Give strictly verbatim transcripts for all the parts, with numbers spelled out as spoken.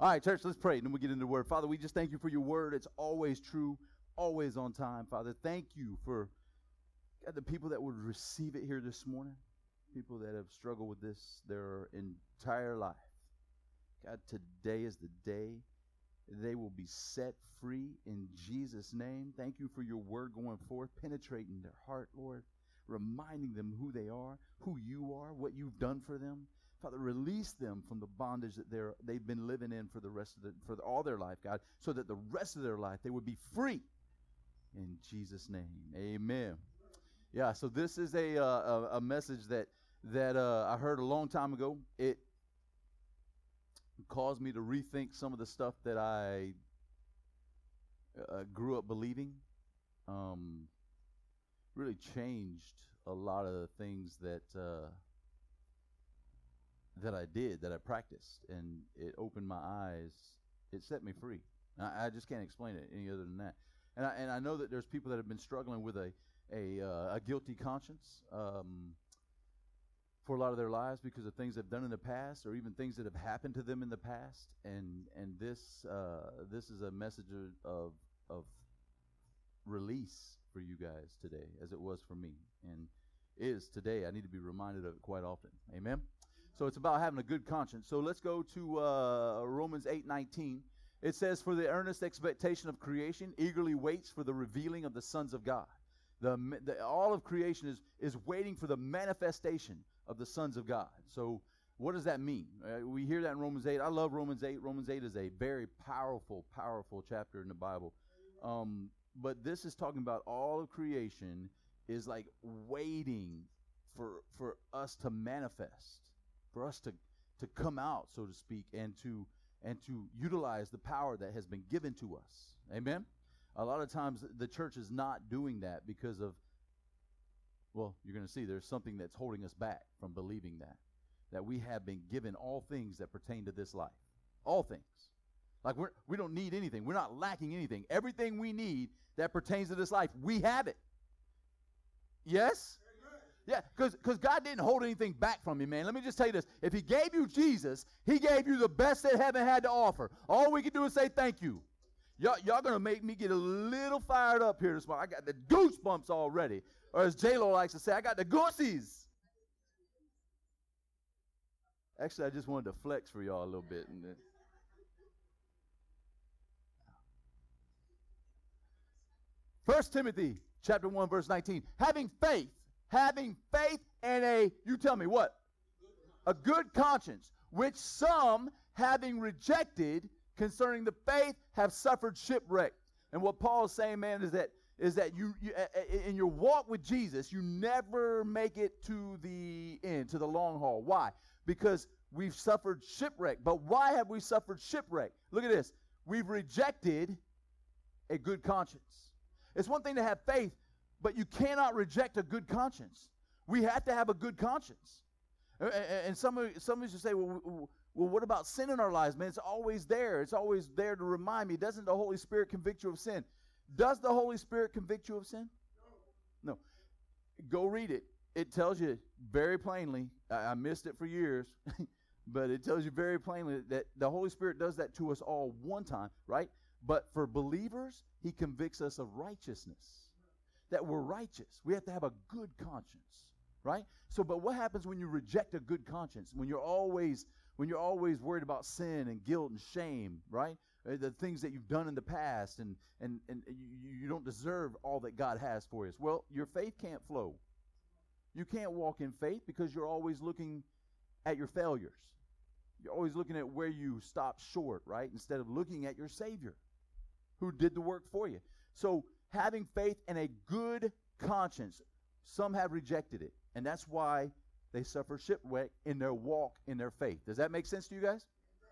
All right, church, let's pray, and then we'll get into the word. Father, we just thank you for your word. It's always true, always on time. Father, thank you for God, the people that would receive it here this morning, people that have struggled with this their entire life. God, today is the day they will be set free in Jesus' name. Thank you for your word going forth, penetrating their heart, Lord, reminding them who they are, who you are, what you've done for them. Father, release them from the bondage that they're, they've been living in for the rest of the, for all their life, God, so that the rest of their life they would be free. In Jesus' name, amen. Yeah, so this is a uh, a, a message that that uh, I heard a long time ago. It caused me to rethink some of the stuff that I uh, grew up believing. Um, really changed a lot of the things that. Uh, that I did, that I practiced, and it opened my eyes. It set me free. I, I just can't explain it any other than that. And I, and I know that there's people that have been struggling with a a, uh, a guilty conscience um, for a lot of their lives because of things they've done in the past, or even things that have happened to them in the past. And and this uh, this is a message of of release for you guys today, as it was for me, and is today. I need to be reminded of it quite often. Amen. So it's about having a good conscience. So let's go to uh, Romans eight nineteen. It says, "For the earnest expectation of creation eagerly waits for the revealing of the sons of God." The, the all of creation is is waiting for the manifestation of the sons of God. So what does that mean? Uh, we hear that in Romans eight. I love Romans eight. Romans eight is a very powerful, powerful chapter in the Bible. Um, but this is talking about all of creation is like waiting for for us to manifest. For us to, to come out, so to speak, and to and to utilize the power that has been given to us. Amen? A lot of times the church is not doing that because of, well, you're going to see there's something that's holding us back from believing that. That we have been given all things that pertain to this life. All things. Like we're, we don't need anything. We're not lacking anything. Everything we need that pertains to this life, we have it. Yes? Yeah, because because God didn't hold anything back from you, man. Let me just tell you this. If he gave you Jesus, he gave you the best that heaven had to offer. All we can do is say thank you. Y'all, y'all going to make me get a little fired up here this morning. I got the goosebumps already. Or as J-Lo likes to say, I got the goosies. Actually, I just wanted to flex for y'all a little bit. And then First Timothy chapter one, verse nineteen. Having faith. Having faith and a, you tell me what? A good conscience, which some, having rejected concerning the faith, have suffered shipwreck. And what Paul is saying, man, is that is that you, you in your walk with Jesus, you never make it to the end, to the long haul. Why? Because we've suffered shipwreck. But why have we suffered shipwreck? Look at this. We've rejected a good conscience. It's one thing to have faith, but you cannot reject a good conscience. We have to have a good conscience. And some of some of you say, well, well, what about sin in our lives, man? It's always there. It's always there to remind me. Doesn't the Holy Spirit convict you of sin? Does the Holy Spirit convict you of sin? No. No. Go read it. It tells you very plainly. I, I missed it for years, but it tells you very plainly that the Holy Spirit does that to us all one time, right? But for believers, he convicts us of righteousness. That we're righteous. We have to have a good conscience, right? So, but what happens when you reject a good conscience? When you're always, when you're always worried about sin and guilt and shame, right? Uh, the things that you've done in the past, and and and you, you don't deserve all that God has for us. Well, your faith can't flow. You can't walk in faith because you're always looking at your failures. You're always looking at where you stopped short, right? Instead of looking at your Savior, who did the work for you. So, having faith and a good conscience, some have rejected it. And that's why they suffer shipwreck in their walk in their faith. Does that make sense to you guys?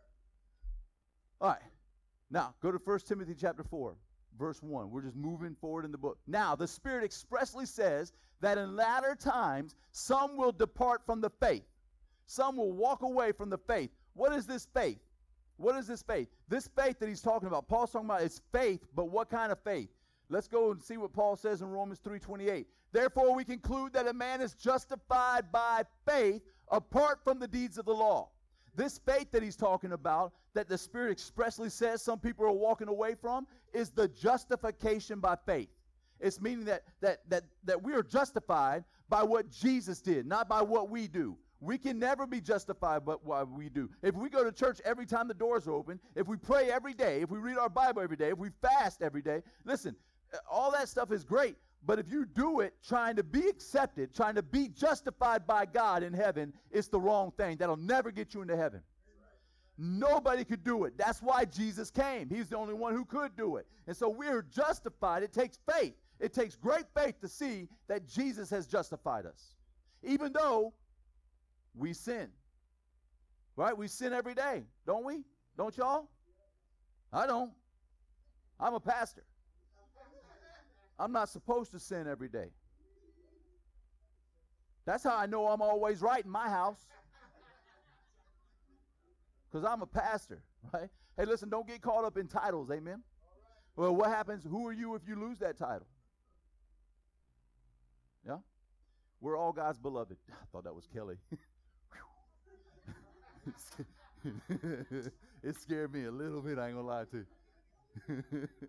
All right. Now, go to First Timothy chapter four, verse one. We're just moving forward in the book. Now, the Spirit expressly says that in latter times, some will depart from the faith. Some will walk away from the faith. What is this faith? What is this faith? This faith that he's talking about, Paul's talking about, is faith, but what kind of faith? Let's go and see what Paul says in Romans three twenty-eight. Therefore, we conclude that a man is justified by faith apart from the deeds of the law. This faith that he's talking about, that the Spirit expressly says some people are walking away from, is the justification by faith. It's meaning that that that that we are justified by what Jesus did, not by what we do. We can never be justified by what we do. If we go to church every time the doors are open, if we pray every day, if we read our Bible every day, if we fast every day, listen, all that stuff is great. But if you do it trying to be accepted, trying to be justified by God in heaven, it's the wrong thing. That'll never get you into heaven. Nobody could do it. That's why Jesus came. He's the only one who could do it. And so we're justified. It takes faith. It takes great faith to see that Jesus has justified us. Even though we sin. Right? We sin every day, don't we? Don't y'all? I don't. I'm a pastor. I'm not supposed to sin every day. That's how I know I'm always right in my house. Because I'm a pastor, right? Hey, listen, don't get caught up in titles, amen? Well, what happens? Who are you if you lose that title? Yeah? We're all God's beloved. I thought that was Kelly. It scared me a little bit, I ain't gonna lie to you.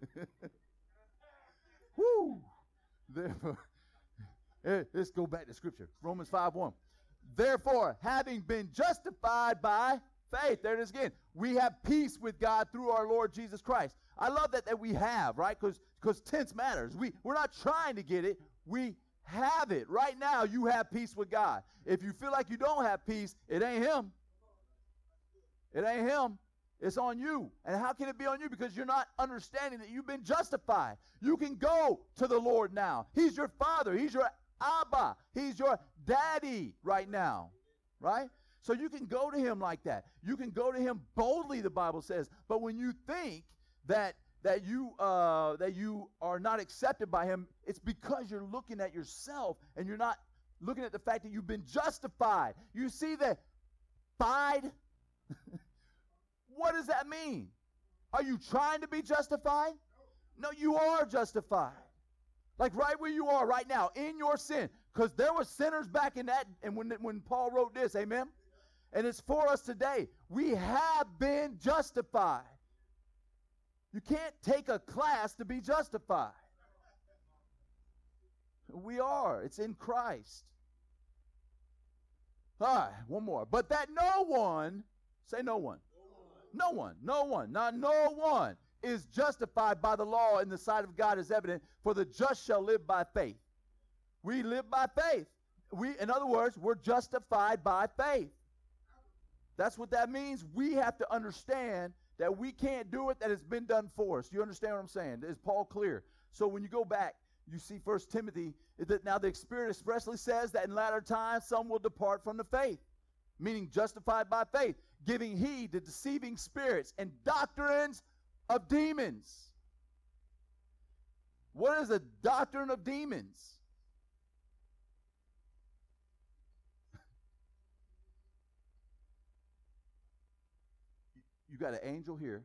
Woo! Therefore, let's go back to Scripture. Romans five one. Therefore, having been justified by faith, there it is again. We have peace with God through our Lord Jesus Christ. I love that that we have, right? Because because tense matters. We, we're not trying to get it. We have it. Right now, you have peace with God. If you feel like you don't have peace, it ain't him. It ain't him. It's on you. And how can it be on you? Because you're not understanding that you've been justified. You can go to the Lord now. He's your father. He's your Abba. He's your daddy right now. Right? So you can go to him like that. You can go to him boldly, the Bible says. But when you think that that you uh, that you are not accepted by him, it's because you're looking at yourself and you're not looking at the fact that you've been justified. You see that fied? What does that mean? Are you trying to be justified? No, you are justified. Like right where you are right now, in your sin. Because there were sinners back in that, and when, when Paul wrote this, amen? And it's for us today. We have been justified. You can't take a class to be justified. We are. It's in Christ. All right, one more. But that no one, say no one. No one, no one, not no one is justified by the law in the sight of God is evident, for the just shall live by faith. We live by faith. We, in other words, we're justified by faith. That's what that means. We have to understand that we can't do it, that it's been done for us. You understand what I'm saying? Is Paul clear? So when you go back, you see First Timothy, that now the Spirit expressly says that in latter times some will depart from the faith, meaning justified by faith, giving heed to deceiving spirits and doctrines of demons. What is a doctrine of demons? You got an angel here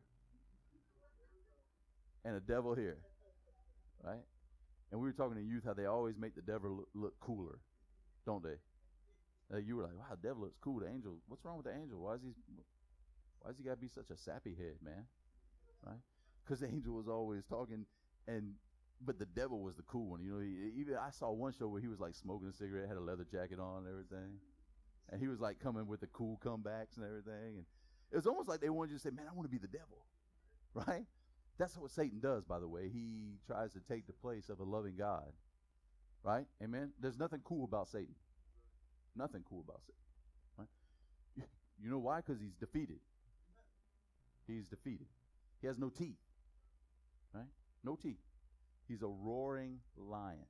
and a devil here, right? And we were talking to youth how they always make the devil look, look cooler, don't they? Uh, you were like, wow, the devil looks cool. The angel, what's wrong with the angel? Why is he, why does he got to be such a sappy head, man? Right? Because the angel was always talking, and but the devil was the cool one. You know, he, even I saw one show where he was like smoking a cigarette, had a leather jacket on and everything, and he was like coming with the cool comebacks and everything. And it was almost like they wanted you to say, man, I want to be the devil, right? That's what Satan does, by the way. He tries to take the place of a loving God, right? Amen? There's nothing cool about Satan. Nothing cool about Satan, right? You, you know why? Because he's defeated. He's defeated. He has no teeth, right? No teeth. He's a roaring lion,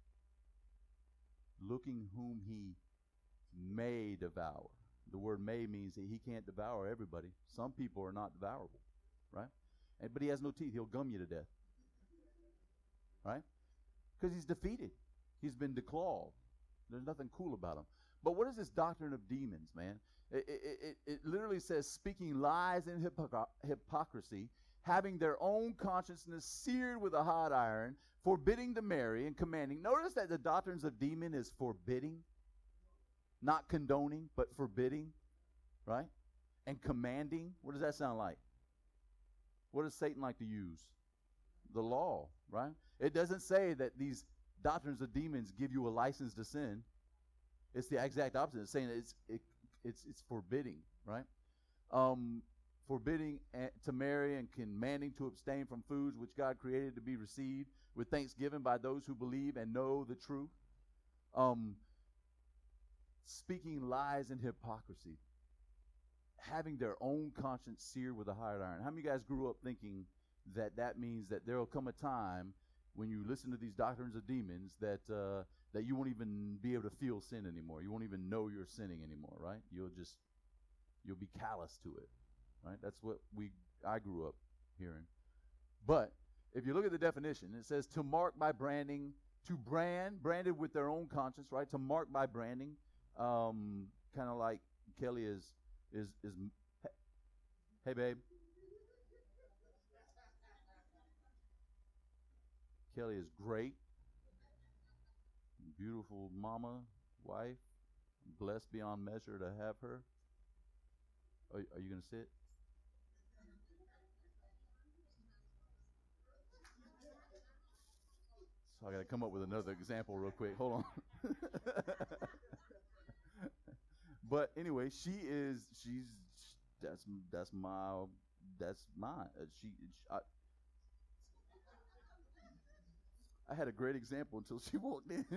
looking whom he may devour. The word may means that he can't devour everybody. Some people are not devourable, right? And, but he has no teeth. He'll gum you to death, right? Because he's defeated. He's been declawed. There's nothing cool about him. But what is this doctrine of demons, man? It, it, it, it literally says speaking lies and hypocr- hypocrisy, having their own consciousness seared with a hot iron, forbidding to marry and commanding. Notice that the doctrines of demon is forbidding, not condoning, but forbidding, right? and commanding. What does that sound like? What does Satan like to use? The law, right? It doesn't say that these doctrines of demons give you a license to sin. It's the exact opposite. It's saying it's it, it's it's forbidding, right? Um, forbidding to marry and commanding to abstain from foods which God created to be received with thanksgiving by those who believe and know the truth. Um, speaking lies and hypocrisy. Having their own conscience seared with a hot iron. How many of you guys grew up thinking that that means that there will come a time when you listen to these doctrines of demons that uh, that you won't even be able to feel sin anymore. You won't even know you're sinning anymore, right? You'll just, you'll be callous to it, right? That's what we I grew up hearing. But if you look at the definition, it says to mark by branding, to brand, branded with their own conscience, right? To mark by branding, um, kind of like Kelly is, is, is, hey, babe. Kelly is great. Beautiful mama, wife, blessed beyond measure to have her. Are, are you going to sit? So I got to come up with another example real quick. Hold on. But anyway, she is, she's, that's, that's my, that's mine. Uh, she, I, I had a great example until she walked in.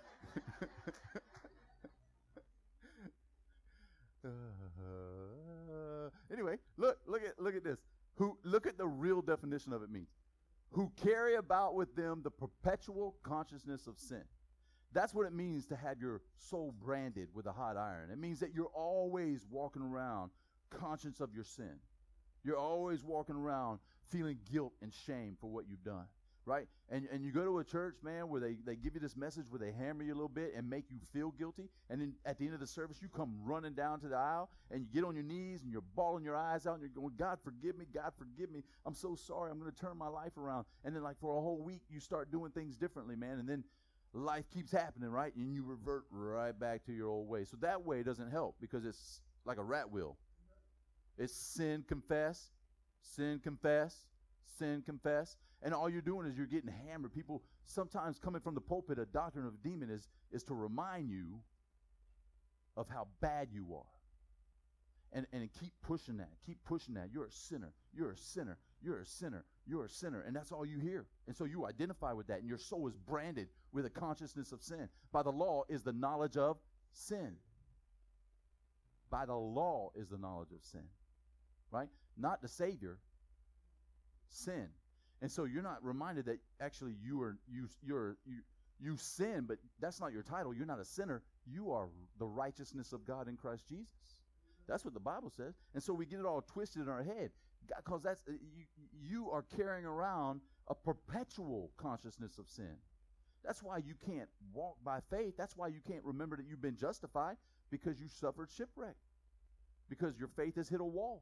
uh, anyway, look, look at, look at this. Who, look at the real definition of it means. Who carry about with them the perpetual consciousness of sin. That's what it means to have your soul branded with a hot iron. It means that you're always walking around conscious of your sin. You're always walking around feeling guilt and shame for what you've done. Right? And and you go to a church, man, where they, they give you this message where they hammer you a little bit and make you feel guilty. And then at the end of the service, you come running down to the aisle and you get on your knees and you're bawling your eyes out and you're going, God, forgive me. God, forgive me. I'm so sorry. I'm going to turn my life around. And then like for a whole week, you start doing things differently, man. And then life keeps happening, right? And you revert right back to your old way. So that way doesn't help because it's like a rat wheel. It's sin, confess, sin, confess, sin, confess. And all you're doing is you're getting hammered. People sometimes coming from the pulpit, a doctrine of a demon is, is to remind you of how bad you are. And, and keep pushing that. Keep pushing that. You're a sinner. You're a sinner. You're a sinner. You're a sinner. And that's all you hear. And so you identify with that. And your soul is branded with a consciousness of sin. By the law is the knowledge of sin. By the law is the knowledge of sin. Right? Not the Savior. Sin. And so you're not reminded that actually you are you you're you you sin, but that's not your title. You're not a sinner. You are the righteousness of God in Christ Jesus. That's what the Bible says. And so we get it all twisted in our head because that's you you are carrying around a perpetual consciousness of sin. That's why you can't walk by faith. That's why you can't remember that you've been justified because you suffered shipwreck. Because your faith has hit a wall.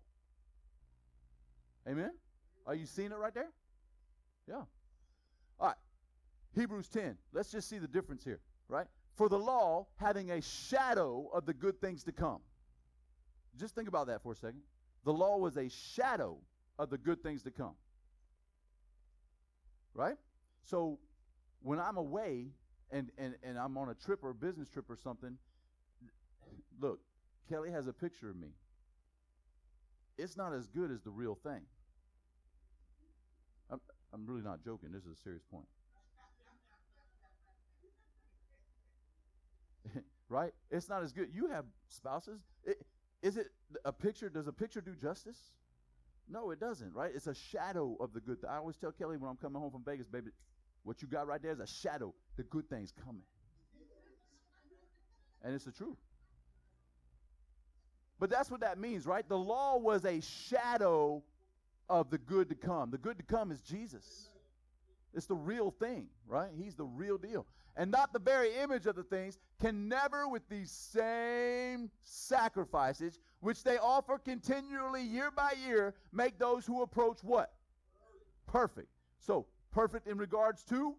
Amen? Are you seeing it right there? Yeah. All right. Hebrews ten. Let's just see the difference here, right? For the law, having a shadow of the good things to come. Just think about that for a second. The law was a shadow of the good things to come. Right? So when I'm away and, and, and I'm on a trip or a business trip or something, look, Kelly has a picture of me. It's not as good as the real thing. I'm, I'm really not joking. This is a serious point. Right? It's not as good. You have spouses. It, is it a picture? Does a picture do justice? No, it doesn't, right? It's a shadow of the good. Th- I always tell Kelly when I'm coming home from Vegas, baby, what you got right there is a shadow. The good thing's coming. And it's the truth. But that's what that means, right? The law was a shadow of the good to come. The good to come is Jesus. It's the real thing, right? He's the real deal. And not the very image of the things, can never with these same sacrifices, which they offer continually year by year, make those who approach what? Perfect. So, perfect in regards to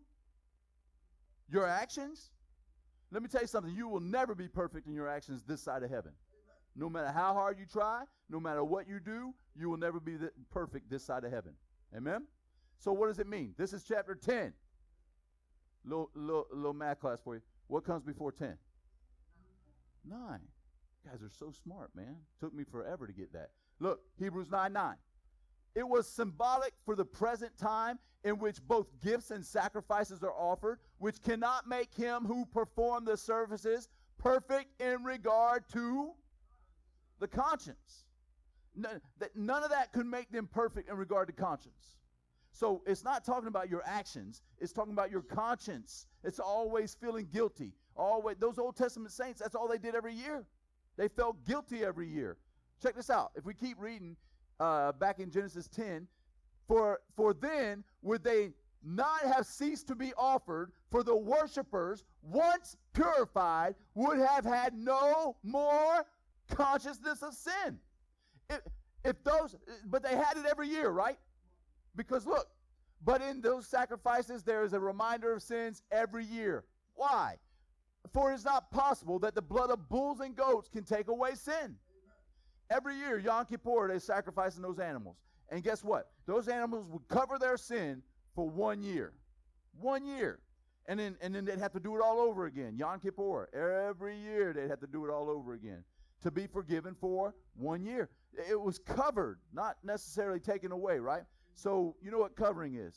your actions. Let me tell you something. You will never be perfect in your actions this side of heaven. No matter how hard you try, no matter what you do, you will never be th- perfect this side of heaven. Amen? So what does it mean? This is chapter ten. Little, little, little math class for you. What comes before ten? Nine. You guys are so smart, man. Took me forever to get that. Look, Hebrews nine nine. It was symbolic for the present time in which both gifts and sacrifices are offered, which cannot make him who performed the services perfect in regard to the conscience. None, that, none of that could make them perfect in regard to conscience. So it's not talking about your actions. It's talking about your conscience. It's always feeling guilty. Always, those Old Testament saints, that's all they did every year. They felt guilty every year. Check this out. If we keep reading uh, back in Genesis ten, for, for then would they not have ceased to be offered, for the worshipers, once purified, would have had no more consciousness of sin. If, if those, but they had it every year, right? Because look, but in those sacrifices there is a reminder of sins every year. Why? For it is not possible that the blood of bulls and goats can take away sin. Every year, Yom Kippur, they sacrificing those animals. And guess what? Those animals would cover their sin for one year. One year. And then, and then they'd have to do it all over again. Yom Kippur. Every year they'd have to do it all over again to be forgiven for one year. It was covered, not necessarily taken away, right? So you know what covering is?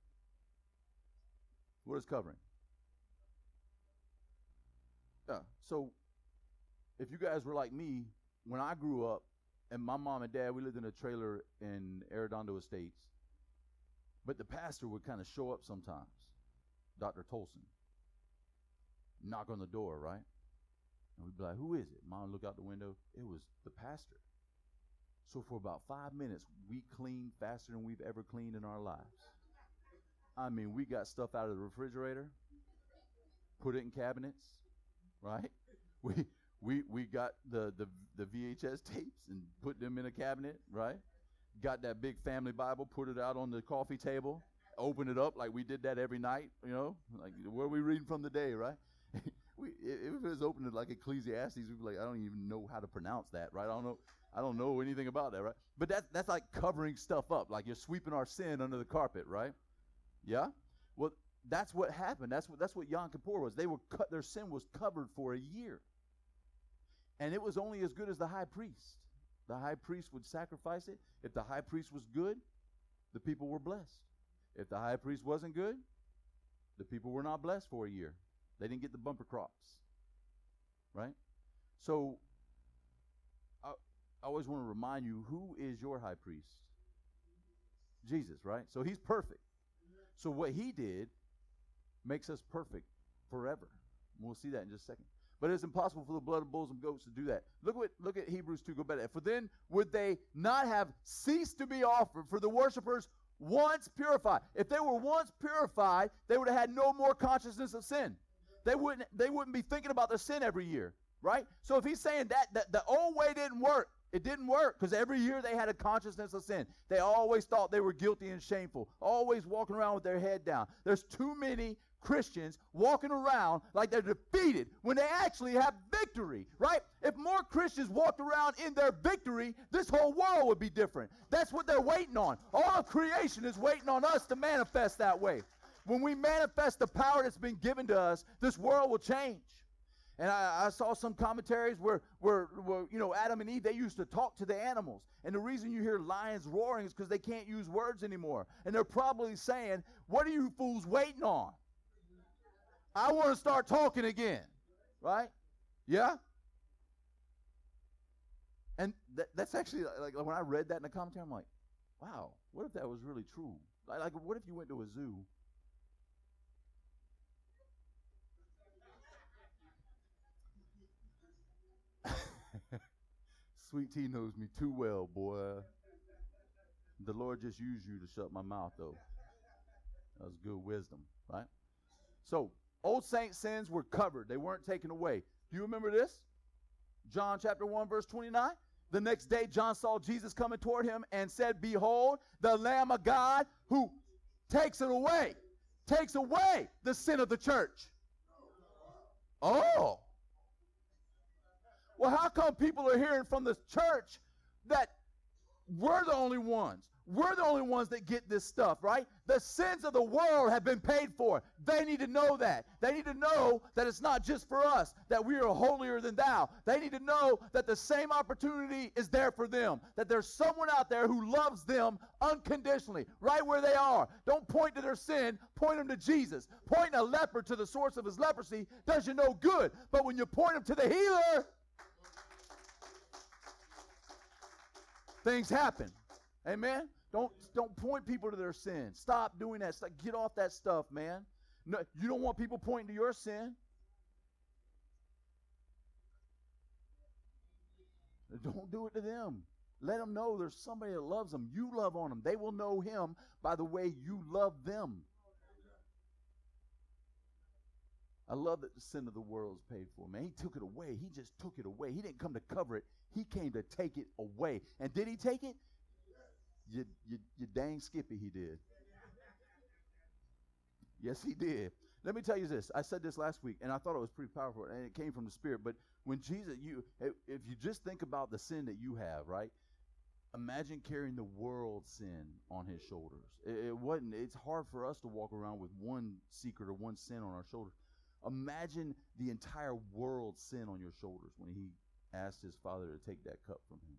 What is covering? Yeah. So if you guys were like me, when I grew up, and my mom and dad, we lived in a trailer in Arredondo Estates, but the pastor would kind of show up sometimes, Doctor Tolson, knock on the door, right? And we'd be like, who is it? Mom would look out the window. It was the pastor. So for about five minutes, we cleaned faster than we've ever cleaned in our lives. I mean, we got stuff out of the refrigerator, put it in cabinets, right? We we we got the, the, the V H S tapes and put them in a cabinet, right? Got that big family Bible, put it out on the coffee table, open it up like we did that every night, you know? Like, where are we reading from today, right? we, if it was open to like Ecclesiastes, we'd be like, I don't even know how to pronounce that, right? I don't know. I don't know anything about that, right? But that, that's like covering stuff up, like you're sweeping our sin under the carpet, right? Yeah? Well, that's what happened. That's what that's what Yom Kippur was. They were cut, their sin was covered for a year. And it was only as good as the high priest. The high priest would sacrifice it. If the high priest was good, the people were blessed. If the high priest wasn't good, the people were not blessed for a year. They didn't get the bumper crops, right? So I, I always want to remind you, who is your high priest? Jesus, right? So he's perfect. So what he did makes us perfect forever. We'll see that in just a second. But it's impossible for the blood of bulls and goats to do that. Look what look at Hebrews two, go back to that. For then would they not have ceased to be offered for the worshipers once purified. If they were once purified, they would have had no more consciousness of sin. They wouldn't they wouldn't be thinking about their sin every year, right? So if he's saying that, that the old way didn't work, it didn't work because every year they had a consciousness of sin. They always thought they were guilty and shameful, always walking around with their head down. There's too many Christians walking around like they're defeated when they actually have victory, right? If more Christians walked around in their victory, this whole world would be different. That's what they're waiting on. All of creation is waiting on us to manifest that way. When we manifest the power that's been given to us, this world will change. And I, I saw some commentaries where, where, where, you know, Adam and Eve, they used to talk to the animals. And the reason you hear lions roaring is because they can't use words anymore. And they're probably saying, what are you fools waiting on? I want to start talking again, right? Yeah? And that, that's actually, like, when I read that in the commentary, I'm like, wow, what if that was really true? Like, like what if you went to a zoo? Sweet Tea knows me too well, boy. The Lord just used you to shut my mouth, though. That was good wisdom, right? So, old saint sins were covered. They weren't taken away. Do you remember this? John chapter one, verse twenty-nine. The next day, John saw Jesus coming toward him and said, behold, the Lamb of God who takes it away, takes away the sin of the church. Oh. Well, how come people are hearing from the church that we're the only ones? We're the only ones that get this stuff, right? The sins of the world have been paid for. They need to know that. They need to know that it's not just for us, that we are holier than thou. They need to know that the same opportunity is there for them, that there's someone out there who loves them unconditionally, right where they are. Don't point to their sin, point them to Jesus. Pointing a leper to the source of his leprosy does you no good. But when you point him to the healer, things happen. Amen? Don't, don't point people to their sin. Stop doing that stuff. Get off that stuff, man. No, you don't want people pointing to your sin. Don't do it to them. Let them know there's somebody that loves them. You love on them. They will know him by the way you love them. I love that the sin of the world is paid for, man. He took it away. He just took it away. He didn't come to cover it. He came to take it away. And did he take it? You, you, you dang skippy, he did. Yes, he did. Let me tell you this. I said this last week, and I thought it was pretty powerful, and it came from the Spirit. But when Jesus, you, if you just think about the sin that you have, right? Imagine carrying the world's sin on his shoulders. It, it wasn't. It's hard for us to walk around with one secret or one sin on our shoulders. Imagine the entire world's sin on your shoulders when he asked his Father to take that cup from him.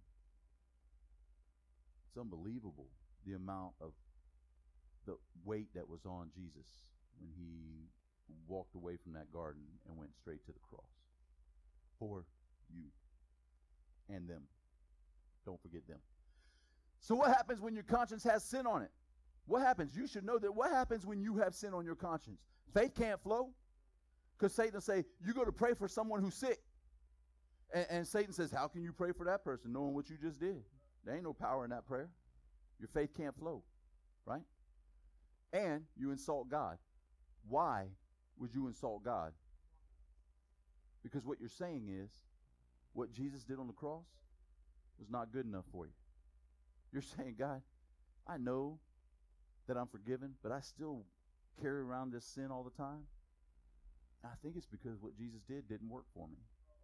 It's unbelievable, the amount of the weight that was on Jesus when he walked away from that garden and went straight to the cross for you and them. Don't forget them. So what happens when your conscience has sin on it? What happens? You should know that. What happens when you have sin on your conscience? Faith can't flow. Because Satan will say, you go to pray for someone who's sick. And, and Satan says, how can you pray for that person knowing what you just did? There ain't no power in that prayer. Your faith can't flow, right? And you insult God. Why would you insult God? Because what you're saying is, what Jesus did on the cross was not good enough for you. You're saying, God, I know that I'm forgiven, but I still carry around this sin all the time. I think it's because what Jesus did didn't work for me.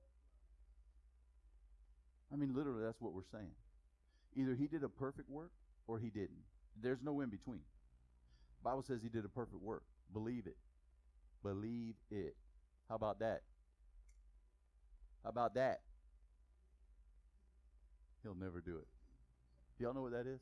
I mean, literally, that's what we're saying. Either he did a perfect work or he didn't. There's no in between. The Bible says he did a perfect work. Believe it. Believe it. How about that? How about that? He'll never do it. Do y'all know what that is?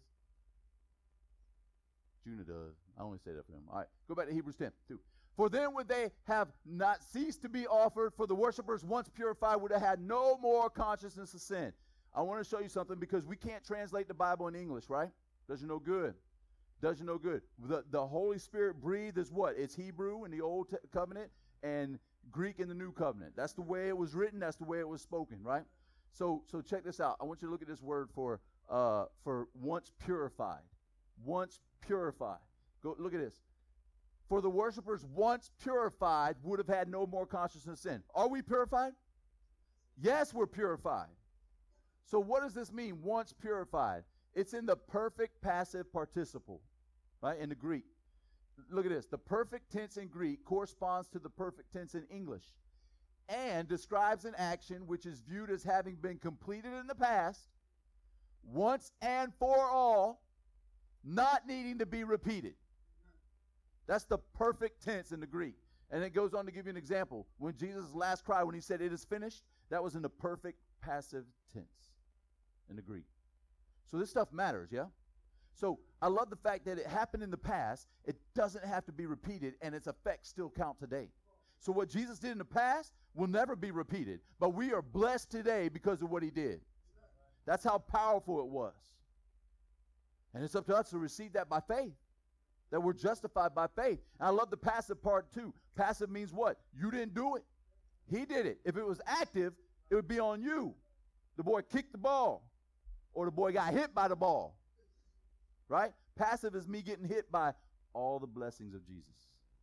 Juna does. I only say that for him. All right, go back to Hebrews ten, two. For then would they have not ceased to be offered, for the worshipers once purified would have had no more consciousness of sin. I want to show you something because we can't translate the Bible in English, right? Does you no good. Does you no good. The, the Holy Spirit breathed is what? It's Hebrew in the Old T- Covenant and Greek in the New Covenant. That's the way it was written. That's the way it was spoken, right? So so check this out. I want you to look at this word for uh, for once purified. Once purified. Go look at this. For the worshipers once purified would have had no more consciousness of sin. Are we purified? Yes, we're purified. So what does this mean, once purified? It's in the perfect passive participle, right, in the Greek. Look at this. The perfect tense in Greek corresponds to the perfect tense in English and describes an action which is viewed as having been completed in the past, once and for all, not needing to be repeated. That's the perfect tense in the Greek. And it goes on to give you an example. When Jesus' last cry, when he said, it is finished, that was in the perfect passive tense in the Greek. So this stuff matters, yeah? So I love the fact that it happened in the past. It doesn't have to be repeated, and its effects still count today. So what Jesus did in the past will never be repeated. But we are blessed today because of what he did. That's how powerful it was. And it's up to us to receive that by faith. That we're justified by faith. And I love the passive part too. Passive means what? You didn't do it. He did it. If it was active, it would be on you. The boy kicked the ball. Or the boy got hit by the ball. Right? Passive is me getting hit by all the blessings of Jesus.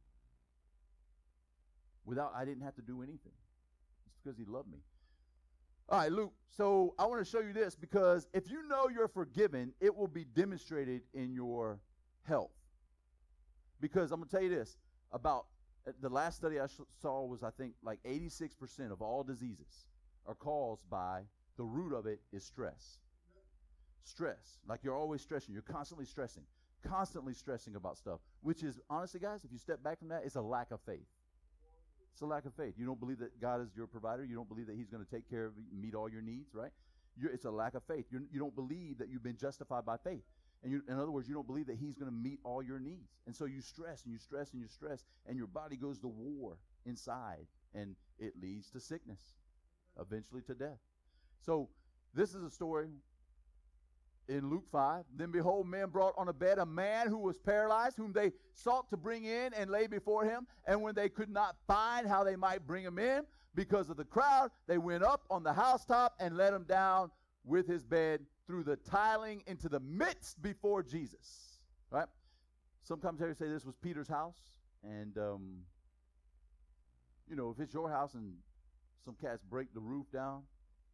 Without, I didn't have to do anything. It's because he loved me. All right, Luke. So I want to show you this because if you know you're forgiven, it will be demonstrated in your health. Because I'm going to tell you this, about the last study I sh- saw was, I think, like eighty-six percent of all diseases are caused by, the root of it is stress. Stress. Like you're always stressing. You're constantly stressing. Constantly stressing about stuff. Which is, honestly, guys, if you step back from that, it's a lack of faith. It's a lack of faith. You don't believe that God is your provider. You don't believe that he's going to take care of you, meet all your needs, right? You're, it's a lack of faith. You're, you don't believe that you've been justified by faith. And you, in other words, you don't believe that he's going to meet all your needs. And so you stress and you stress and you stress, and your body goes to war inside, and it leads to sickness, eventually to death. So this is a story in Luke five. Then behold, men brought on a bed a man who was paralyzed, whom they sought to bring in and lay before him. And when they could not find how they might bring him in because of the crowd, they went up on the housetop and let him down with his bed through the tiling into the midst before Jesus. Right? Some commentators say this was Peter's house. And, um, you know, if it's your house and some cats break the roof down,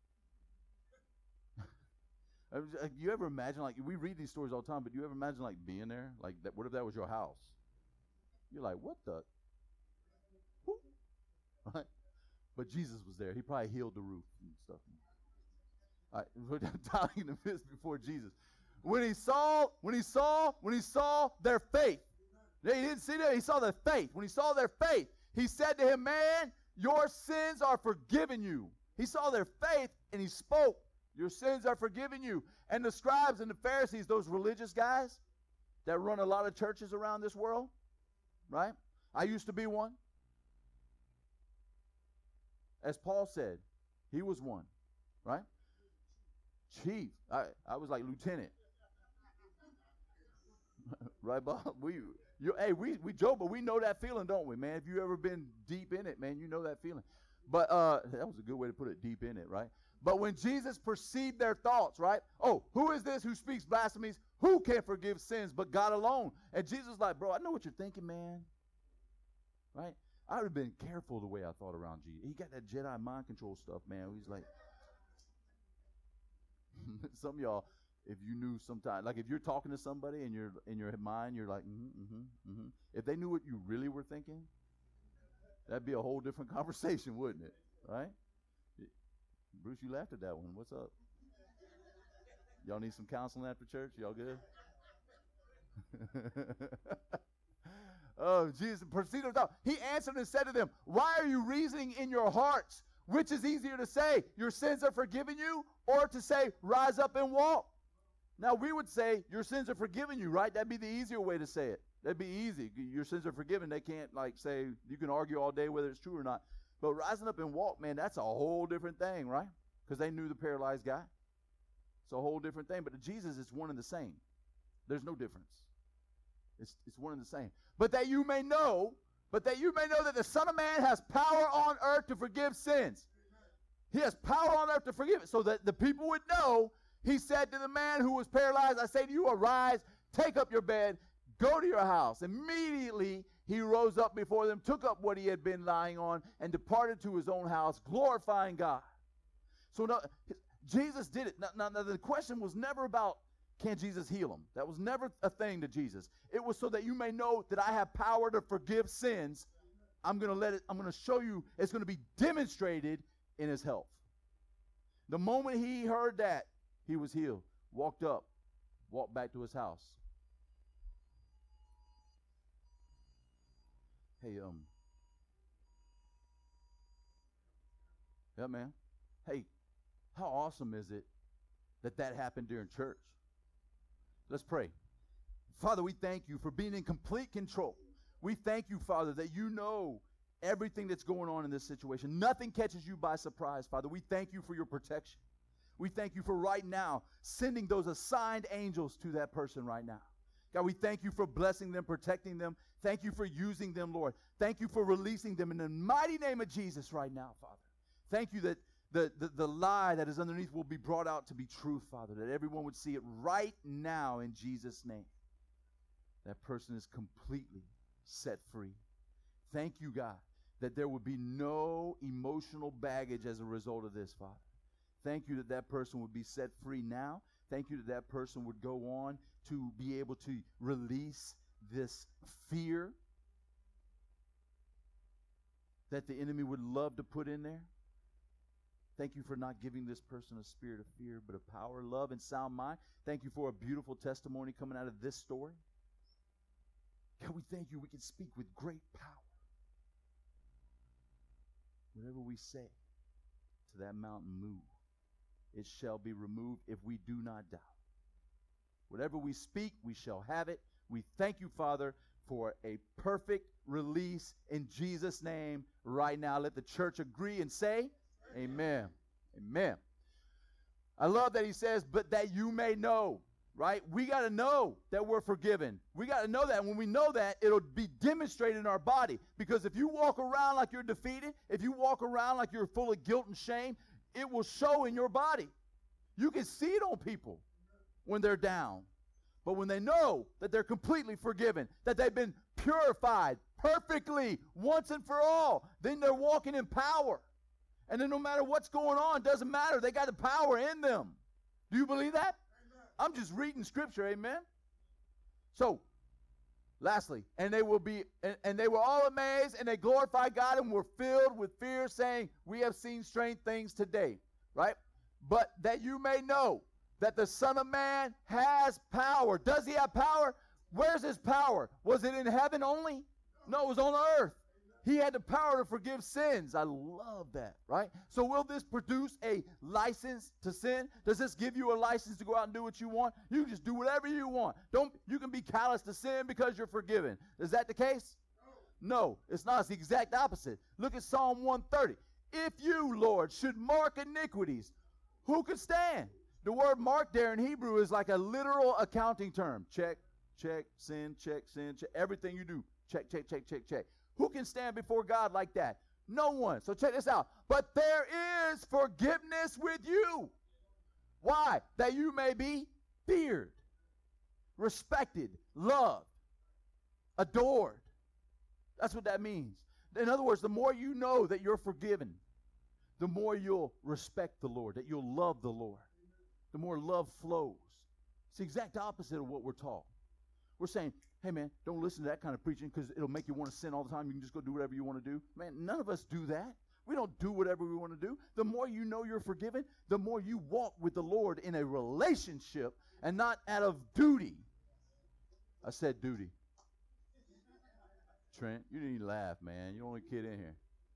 you ever imagine, like, we read these stories all the time, but do you ever imagine, like, being there? Like, that, what if that was your house? You're like, what the? Whoop. Right? But Jesus was there. He probably healed the roof and stuff. All right, we're dying in the midst before Jesus. When he saw, when he saw, when he saw their faith, he didn't see that, he saw their faith. When he saw their faith, he said to him, man, your sins are forgiven you. He saw their faith and he spoke, your sins are forgiven you. And the scribes and the Pharisees, those religious guys that run a lot of churches around this world, right? I used to be one. As Paul said, he was one, right? Chief. I, I was like lieutenant. Right, Bob? We, you, hey, we, we joke, but we know that feeling, don't we, man? If you ever been deep in it, man, you know that feeling. But uh, that was a good way to put it, deep in it, right? But when Jesus perceived their thoughts, right? Oh, who is this who speaks blasphemies? Who can forgive sins but God alone? And Jesus was like, bro, I know what you're thinking, man. Right? I would have been careful the way I thought around Jesus. He got that Jedi mind control stuff, man. He's like, some of y'all, if you knew sometime, like if you're talking to somebody and you're in your mind, you're like, mm-hmm, mm-hmm, mm-hmm. If they knew what you really were thinking, that'd be a whole different conversation, wouldn't it? Right? Bruce, you laughed at that one. What's up? Y'all need some counseling after church? Y'all good? Oh, Jesus proceeded to He answered and said to them, why are you reasoning in your hearts? Which is easier to say, your sins are forgiven you, or to say, rise up and walk? Now, we would say, your sins are forgiven you, right? That'd be the easier way to say it. That'd be easy. Your sins are forgiven. They can't, like, say, you can argue all day whether it's true or not. But rising up and walk, man, that's a whole different thing, right? Because they knew the paralyzed guy. It's a whole different thing. But to Jesus, it's one and the same. There's no difference. It's, it's one and the same. But that you may know, but that you may know that the Son of Man has power on earth to forgive sins. He has power on earth to forgive it. So that the people would know, he said to the man who was paralyzed, I say to you, arise, take up your bed, go to your house. Immediately he rose up before them, took up what he had been lying on, and departed to his own house, glorifying God. So now, Jesus did it. Now, now, now the question was never about, can Jesus heal him? That was never a thing to Jesus. It was so that you may know that I have power to forgive sins. I'm going to let it, I'm going to show you, it's going to be demonstrated in his health. The moment he heard that, he was healed, walked up, walked back to his house. Hey, um, yeah, man. Hey, how awesome is it that that happened during church? Let's pray. Father, we thank you for being in complete control. We thank you, Father, that you know everything that's going on in this situation. Nothing catches you by surprise, Father. We thank you for your protection. We thank you for right now sending those assigned angels to that person right now. God, we thank you for blessing them, protecting them. Thank you for using them, Lord. Thank you for releasing them in the mighty name of Jesus right now, Father. Thank you that the, the, the lie that is underneath will be brought out to be truth, Father, that everyone would see it right now in Jesus' name. That person is completely set free. Thank you, God, that there would be no emotional baggage as a result of this, Father. Thank you that that person would be set free now. Thank you that that person would go on to be able to release this fear that the enemy would love to put in there. Thank you for not giving this person a spirit of fear, but of power, love, and sound mind. Thank you for a beautiful testimony coming out of this story. God, we thank you we can speak with great power. Whatever we say to that mountain, move. It shall be removed if we do not doubt. Whatever we speak, we shall have it. We thank you, Father, for a perfect release in Jesus' name right now. Let the church agree and say, amen. Amen. I love that he says, but that you may know, right? We got to know that we're forgiven. We got to know that. When we know that, it'll be demonstrated in our body. Because if you walk around like you're defeated, if you walk around like you're full of guilt and shame, it will show in your body. You can see it on people when they're down. But when they know that they're completely forgiven, that they've been purified perfectly once and for all, then they're walking in power. And then no matter what's going on, it doesn't matter. They got the power in them. Do you believe that? Amen. I'm just reading scripture, amen? So, lastly, and they will be, and, and they were all amazed, and they glorified God and were filled with fear, saying, we have seen strange things today, right? But that you may know that the Son of Man has power. Does he have power? Where's his power? Was it in heaven only? No, it was on earth. He had the power to forgive sins. I love that, right? So will this produce a license to sin? Does this give you a license to go out and do what you want? You can just do whatever you want. Don't you can be callous to sin because you're forgiven. Is that the case? No, no, it's not. It's the exact opposite. Look at Psalm one thirty. If you, Lord, should mark iniquities, who could stand? The word mark there in Hebrew is like a literal accounting term. Check, check, sin, check, sin, check. Everything you do, check, check, check, check, check. Who can stand before God like that? No one. So check this out. But there is forgiveness with you. Why? That you may be feared, respected, loved, adored. That's what that means. In other words, the more you know that you're forgiven, the more you'll respect the Lord, that you'll love the Lord. The more love flows. It's the exact opposite of what we're taught. We're saying, hey, man, don't listen to that kind of preaching because it'll make you want to sin all the time. You can just go do whatever you want to do. Man, none of us do that. We don't do whatever we want to do. The more you know you're forgiven, the more you walk with the Lord in a relationship and not out of duty. I said duty. Trent, you didn't even laugh, man. You're the only kid in here.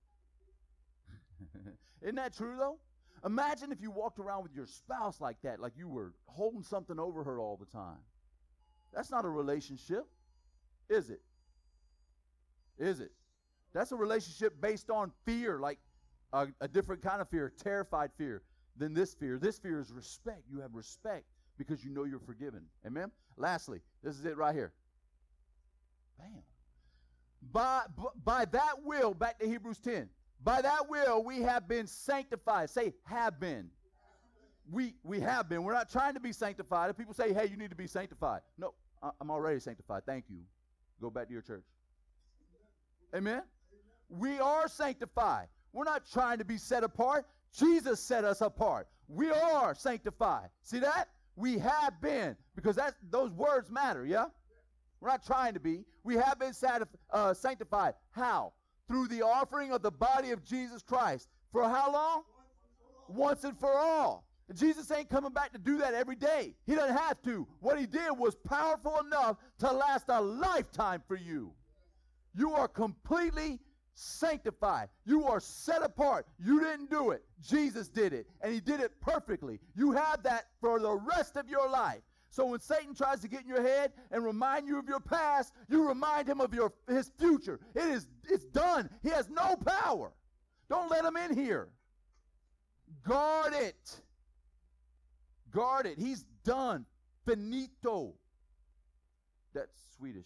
Isn't that true, though? Imagine if you walked around with your spouse like that, like you were holding something over her all the time. That's not a relationship, is it? Is it? That's a relationship based on fear, like a, a different kind of fear, terrified fear than this fear. This fear is respect. You have respect because you know you're forgiven. Amen? Lastly, this is it right here. Bam. By, by that will, back to Hebrews ten, by that will we have been sanctified. Say, have been. We we have been. We're not trying to be sanctified. If people say, hey, you need to be sanctified. No, I'm already sanctified. Thank you. Go back to your church. Amen? We are sanctified. We're not trying to be set apart. Jesus set us apart. We are sanctified. See that? We have been. Because that's, those words matter, yeah? We're not trying to be. We have been satisf- uh, sanctified. How? Through the offering of the body of Jesus Christ. For how long? Once and for all. And Jesus ain't coming back to do that every day. He doesn't have to. What he did was powerful enough to last a lifetime for you. You are completely sanctified. You are set apart. You didn't do it. Jesus did it. And he did it perfectly. You have that for the rest of your life. So when Satan tries to get in your head and remind you of your past, you remind him of your his future. It is it's done. He has no power. Don't let him in here. Guard it. Guard it. He's done. Finito. That's Swedish.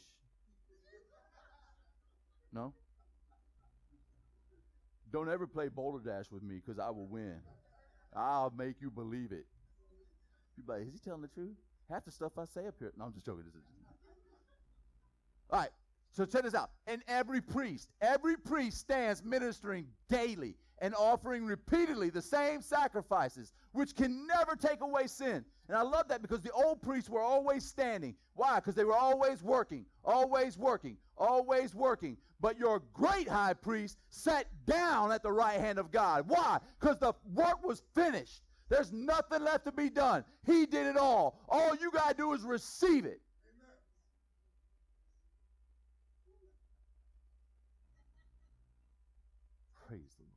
No? Don't ever play Boulder Dash with me because I will win. I'll make you believe it. You're like, is he telling the truth? Half the stuff I say up here. No, I'm just joking. This is... All right. So check this out. And every priest, every priest stands ministering daily and offering repeatedly the same sacrifices, which can never take away sin. And I love that because the old priests were always standing. Why? Because they were always working, always working, always working. But your great high priest sat down at the right hand of God. Why? Because the work was finished. There's nothing left to be done. He did it all. All you got to do is receive it. Praise the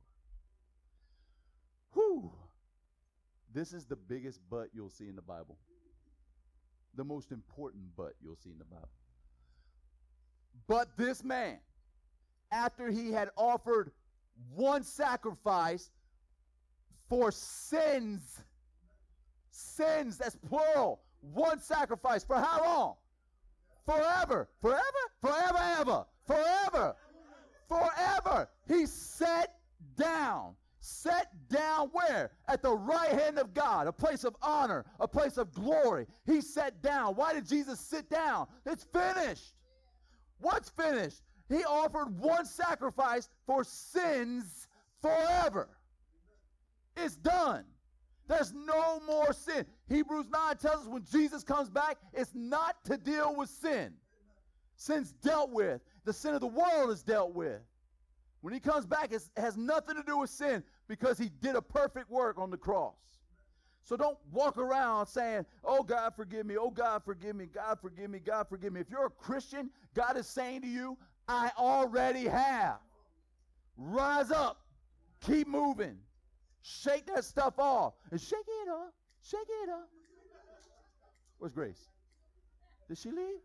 Lord. Whew. This is the biggest but you'll see in the Bible. The most important but you'll see in the Bible. But this man, after he had offered one sacrifice for sins, sins, that's plural, one sacrifice, for how long? Forever, forever, forever, ever, forever, forever. He sat down. Sat down where? At the right hand of God, a place of honor, a place of glory. He sat down. Why did Jesus sit down? It's finished. What's finished? He offered one sacrifice for sins forever. It's done. There's no more sin. Hebrews nine tells us when Jesus comes back, it's not to deal with sin. Sin's dealt with. The sin of the world is dealt with. When he comes back, it has nothing to do with sin because he did a perfect work on the cross. So don't walk around saying, oh, God, forgive me. Oh, God, forgive me. God, forgive me. God, forgive me. If you're a Christian, God is saying to you, I already have. Rise up. Keep moving. Shake that stuff off. And shake it up. Shake it up. Where's Grace? Did she leave?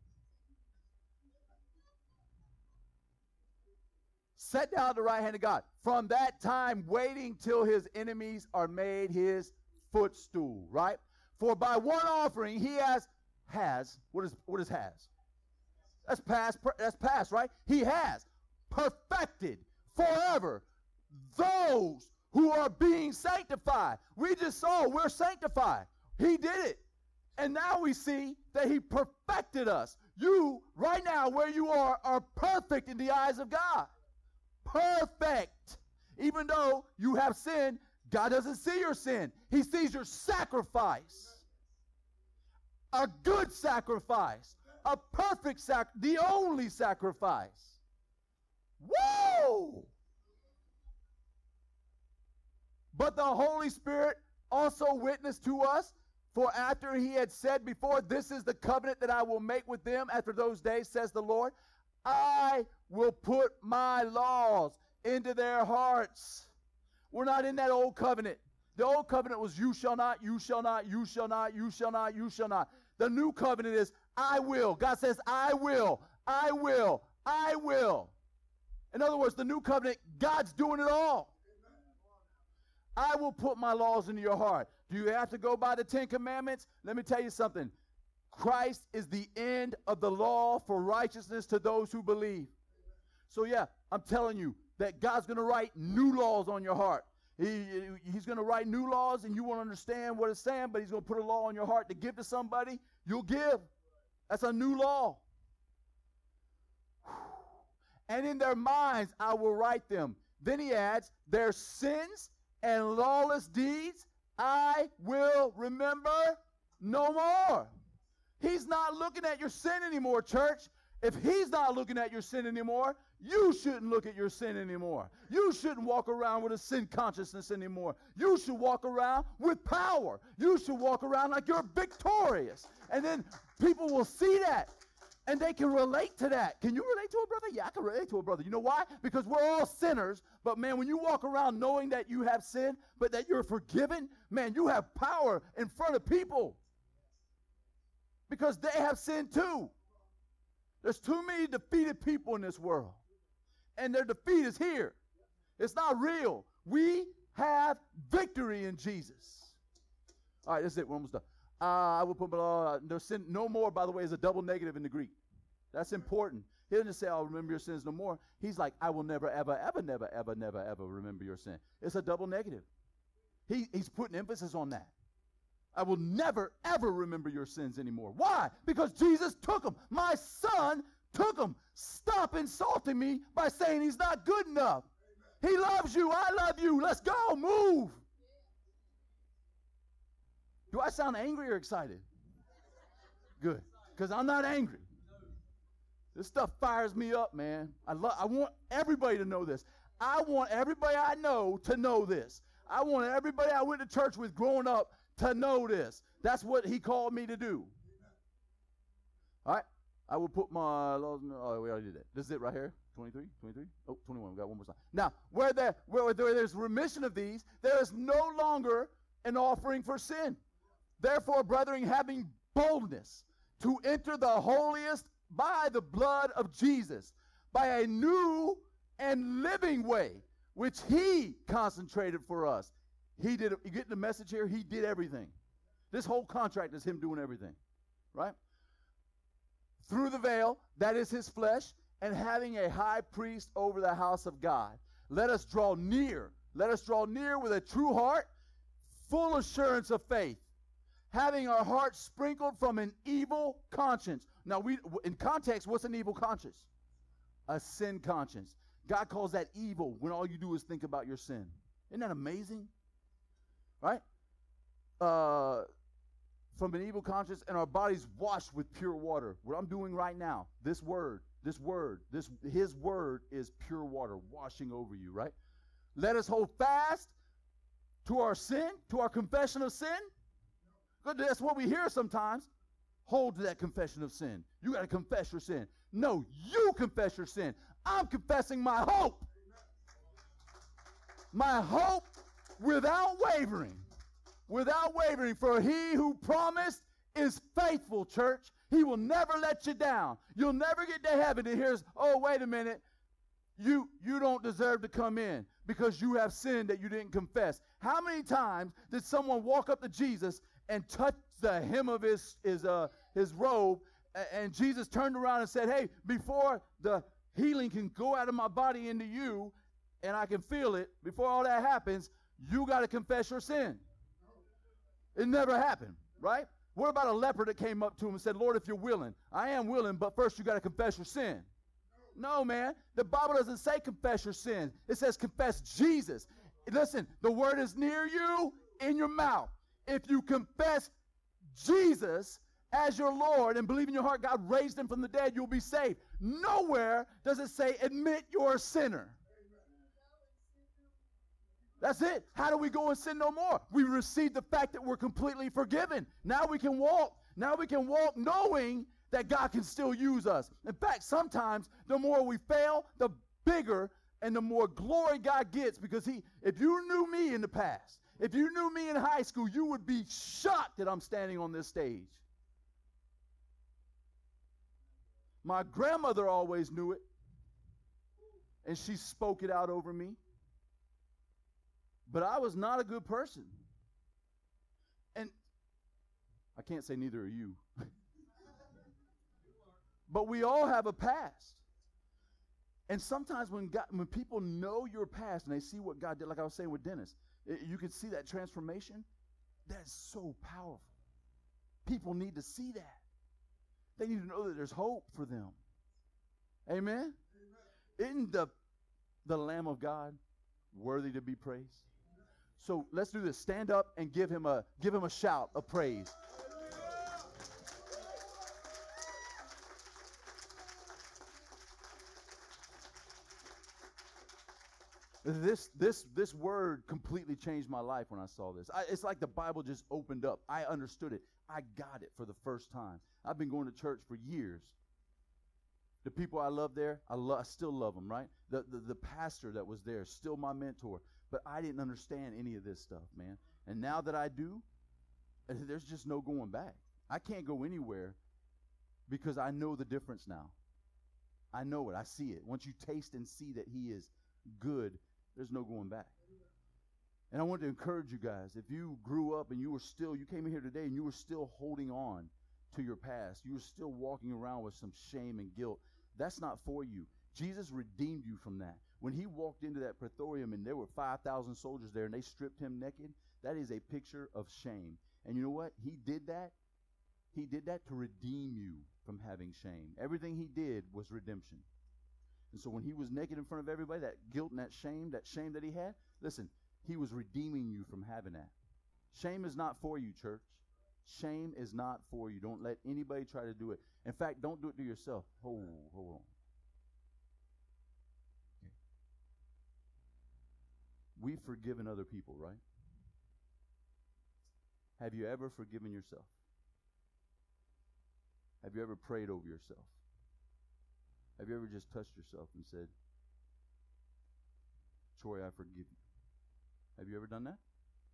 Sat down at the right hand of God. From that time, waiting till his enemies are made his footstool, right? For by one offering he has, has, what is, what is has? That's past, that's past, right? He has perfected forever those who are being sanctified. We just saw we're sanctified. He did it. And now we see that he perfected us. You, right now, where you are, are perfect in the eyes of God. Perfect. Even though you have sinned, God doesn't see your sin. He sees your sacrifice. A good sacrifice. A perfect sacrifice. The only sacrifice. Whoa! But the Holy Spirit also witnessed to us, for after he had said before, this is the covenant that I will make with them after those days, says the Lord, I will put my laws into their hearts. We're not in that old covenant. The old covenant was you shall not, you shall not, you shall not, you shall not, you shall not. The new covenant is I will. God says I will, I will, I will. In other words, the new covenant, God's doing it all. I will put my laws into your heart. Do you have to go by the Ten Commandments? Let me tell you something. Christ is the end of the law for righteousness to those who believe. So yeah, I'm telling you that God's going to write new laws on your heart. He, he's going to write new laws and you won't understand what it's saying, but he's going to put a law on your heart to give to somebody. You'll give. That's a new law. And in their minds I will write them. Then he adds, their sins and lawless deeds I will remember no more. He's not looking at your sin anymore, church. If he's not looking at your sin anymore, you shouldn't look at your sin anymore. You shouldn't walk around with a sin consciousness anymore. You should walk around with power. You should walk around like you're victorious. And then people will see that, and they can relate to that. Can you relate to a brother? Yeah, I can relate to a brother. You know why? Because we're all sinners. But, man, when you walk around knowing that you have sin, but that you're forgiven, man, you have power in front of people. Because they have sin too. There's too many defeated people in this world. And their defeat is here. It's not real. We have victory in Jesus. All right, that's it. We're almost done. Uh, I will put uh, no sin no more, by the way, is a double negative in the Greek. That's important. He doesn't say, I'll remember your sins no more. He's like, I will never, ever, ever, never, ever, never, ever remember your sin. It's a double negative. He, he's putting emphasis on that. I will never, ever remember your sins anymore. Why? Because Jesus took them. My son took them. Stop insulting me by saying he's not good enough. He loves you. I love you. Let's go. Move. Do I sound angry or excited? Good. Because I'm not angry. This stuff fires me up, man. I love. I want everybody to know this. I want everybody I know to know this. I want everybody I went to church with growing up to know this. That's what he called me to do. All right. I will put my, oh, we already did that. This is it right here. twenty-three, twenty-three, oh, twenty-one. We got one more slide. Now, where there, where there is remission of these, there is no longer an offering for sin. Therefore, brethren, having boldness to enter the holiest by the blood of Jesus, by a new and living way, which he concentrated for us. He did, you get the message here? He did everything. This whole contract is him doing everything, right? Through the veil, that is his flesh, and having a high priest over the house of God. Let us draw near. Let us draw near with a true heart, full assurance of faith, having our hearts sprinkled from an evil conscience. Now, we in context, what's an evil conscience? A sin conscience. God calls that evil when all you do is think about your sin. Isn't that amazing? Right? Uh, from an evil conscience, and our bodies washed with pure water. What I'm doing right now, this word, this word, this his word is pure water washing over you, right? Let us hold fast to our sin, to our confession of sin. Good, that's what we hear sometimes. Hold to that confession of sin. You got to confess your sin. No, you confess your sin. I'm confessing my hope. My hope without wavering. Without wavering. For he who promised is faithful, church. He will never let you down. You'll never get to heaven and here's, oh, wait a minute. You, you don't deserve to come in because you have sinned that you didn't confess. How many times did someone walk up to Jesus and touch the hem of his, his, uh, his robe, and Jesus turned around and said, hey, before the healing can go out of my body into you, and I can feel it, before all that happens, you got to confess your sin. It never happened, right? What about a leper that came up to him and said, Lord, if you're willing, I am willing, but first you got to confess your sin. No, man. The Bible doesn't say confess your sin. It says confess Jesus. Listen, the word is near you, in your mouth. If you confess Jesus as your Lord and believe in your heart God raised him from the dead, you'll be saved. Nowhere does it say admit you're a sinner. That's it. How do we go and sin no more? We receive the fact that we're completely forgiven. Now we can walk. Now we can walk knowing that God can still use us. In fact, sometimes the more we fail, the bigger and the more glory God gets, because he, if you knew me in the past, if you knew me in high school, you would be shocked that I'm standing on this stage. My grandmother always knew it, and she spoke it out over me. But I was not a good person. And I can't say neither are you. But we all have a past. And sometimes when God, when people know your past and they see what God did, like I was saying with Dennis, it, you can see that transformation. That's so powerful. People need to see that. They need to know that there's hope for them. Amen? Amen. Isn't the, the Lamb of God worthy to be praised? So let's do this. Stand up and give him a give him a shout of praise. This this this word completely changed my life when I saw this. I, it's like the Bible just opened up. I understood it. I got it for the first time. I've been going to church for years. The people I love there, I, lo- I still love them, right? The, the the pastor that was there, still my mentor. But I didn't understand any of this stuff, man. And now that I do, there's just no going back. I can't go anywhere because I know the difference now. I know it. I see it. Once you taste and see that he is good, there's no going back. And I want to encourage you guys, if you grew up and you were still, you came in here today and you were still holding on to your past, you were still walking around with some shame and guilt, that's not for you. Jesus redeemed you from that. When he walked into that praetorium and there were five thousand soldiers there and they stripped him naked, that is a picture of shame. And you know what? He did that. He did that to redeem you from having shame. Everything he did was redemption. And so when he was naked in front of everybody, that guilt and that shame, that shame that he had, listen, he was redeeming you from having that. Shame is not for you, church. Shame is not for you. Don't let anybody try to do it. In fact, don't do it to yourself. Hold, hold on. Okay. We've forgiven other people, right? Have you ever forgiven yourself? Have you ever prayed over yourself? Have you ever just touched yourself and said, Troy, I forgive you? Have you ever done that?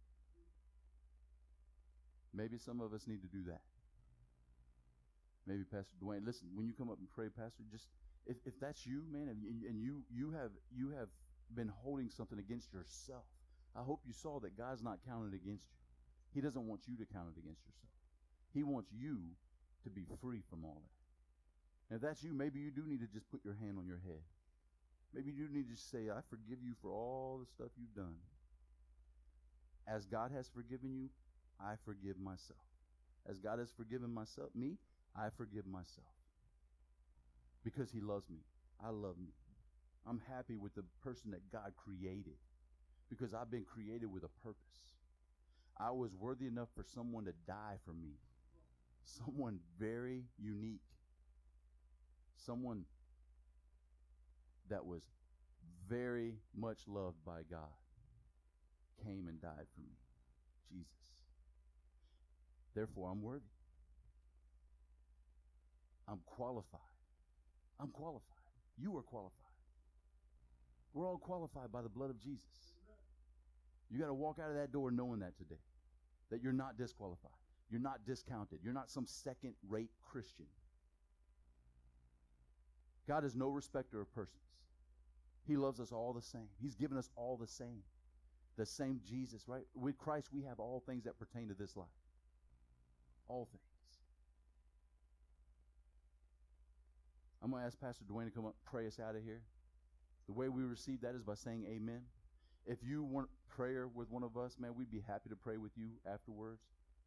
Maybe some of us need to do that. Maybe Pastor Dwayne, listen, when you come up and pray, Pastor, just if, if that's you, man, and, and you you have you have been holding something against yourself, I hope you saw that God's not counting against you. He doesn't want you to count it against yourself. He wants you to be free from all that. And if that's you, maybe you do need to just put your hand on your head. Maybe you do need to just say, I forgive you for all the stuff you've done. As God has forgiven you, I forgive myself. As God has forgiven myself, me, I forgive myself. Because he loves me. I love me. I'm happy with the person that God created. Because I've been created with a purpose. I was worthy enough for someone to die for me. Someone very unique. Someone that was very much loved by God came and died for me. Jesus. Therefore, I'm worthy. I'm qualified. I'm qualified. You are qualified. We're all qualified by the blood of Jesus. You got to walk out of that door knowing that today. That you're not disqualified. You're not discounted. You're not some second-rate Christian. God is no respecter of persons. He loves us all the same. He's given us all the same. The same Jesus, right? With Christ, we have all things that pertain to this life. All things. I'm going to ask Pastor Dwayne to come up and pray us out of here. The way we receive that is by saying amen. If you want prayer with one of us, man, we'd be happy to pray with you afterwards.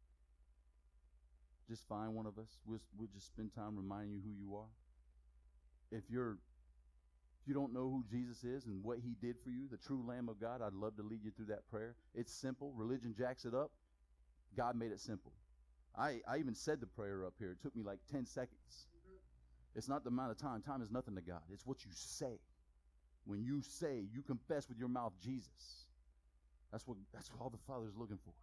Just find one of us. We'll, we'll just spend time reminding you who you are. If you're, if you don't know who Jesus is and what he did for you, the true Lamb of God, I'd love to lead you through that prayer. It's simple. Religion jacks it up. God made it simple. I, I even said the prayer up here. It took me like ten seconds. It's not the amount of time. Time is nothing to God. It's what you say. When you say, you confess with your mouth Jesus. That's what that's what all the Father's looking for.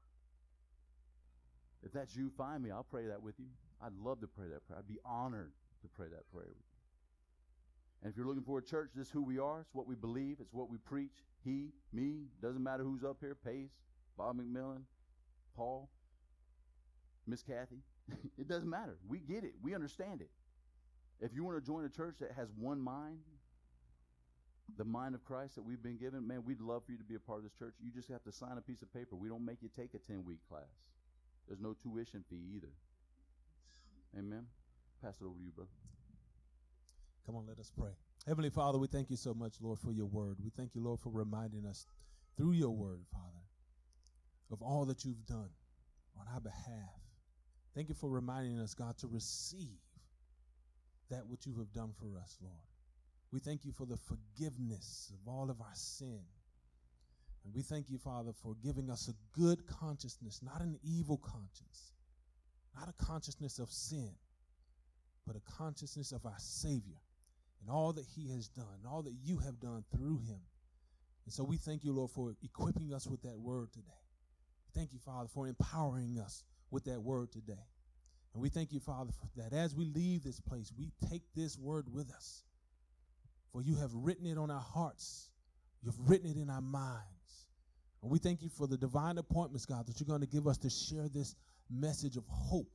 If that's you, find me. I'll pray that with you. I'd love to pray that prayer. I'd be honored to pray that prayer with you. And if you're looking for a church, this is who we are. It's what we believe. It's what we preach. He, me, doesn't matter who's up here. Pace, Bob McMillan, Paul, Miss Kathy. It doesn't matter. We get it. We understand it. If you want to join a church that has one mind, the mind of Christ that we've been given, man, we'd love for you to be a part of this church. You just have to sign a piece of paper. We don't make you take a ten-week class. There's no tuition fee either. Amen. Pass it over to you, brother. Come on, let us pray. Heavenly Father, we thank you so much, Lord, for your word. We thank you, Lord, for reminding us through your word, Father, of all that you've done on our behalf. Thank you for reminding us, God, to receive that which you have done for us, Lord. We thank you for the forgiveness of all of our sin. And we thank you, Father, for giving us a good consciousness, not an evil conscience, not a consciousness of sin, but a consciousness of our Savior and all that he has done, all that you have done through him. And so we thank you, Lord, for equipping us with that word today. Thank you, Father, for empowering us with that word today. And we thank you, Father, for that as we leave this place, we take this word with us. For you have written it on our hearts. You've written it in our minds. And we thank you for the divine appointments, God, that you're going to give us to share this message of hope,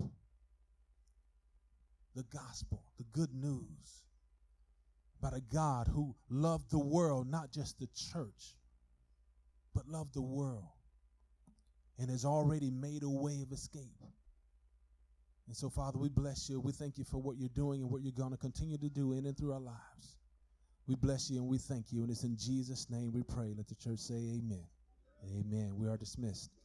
the gospel, the good news about a God who loved the world, not just the church, but loved the world and has already made a way of escape. And so, Father, we bless you. We thank you for what you're doing and what you're going to continue to do in and through our lives. We bless you and we thank you. And it's in Jesus' name we pray. Let the church say amen. Amen. We are dismissed.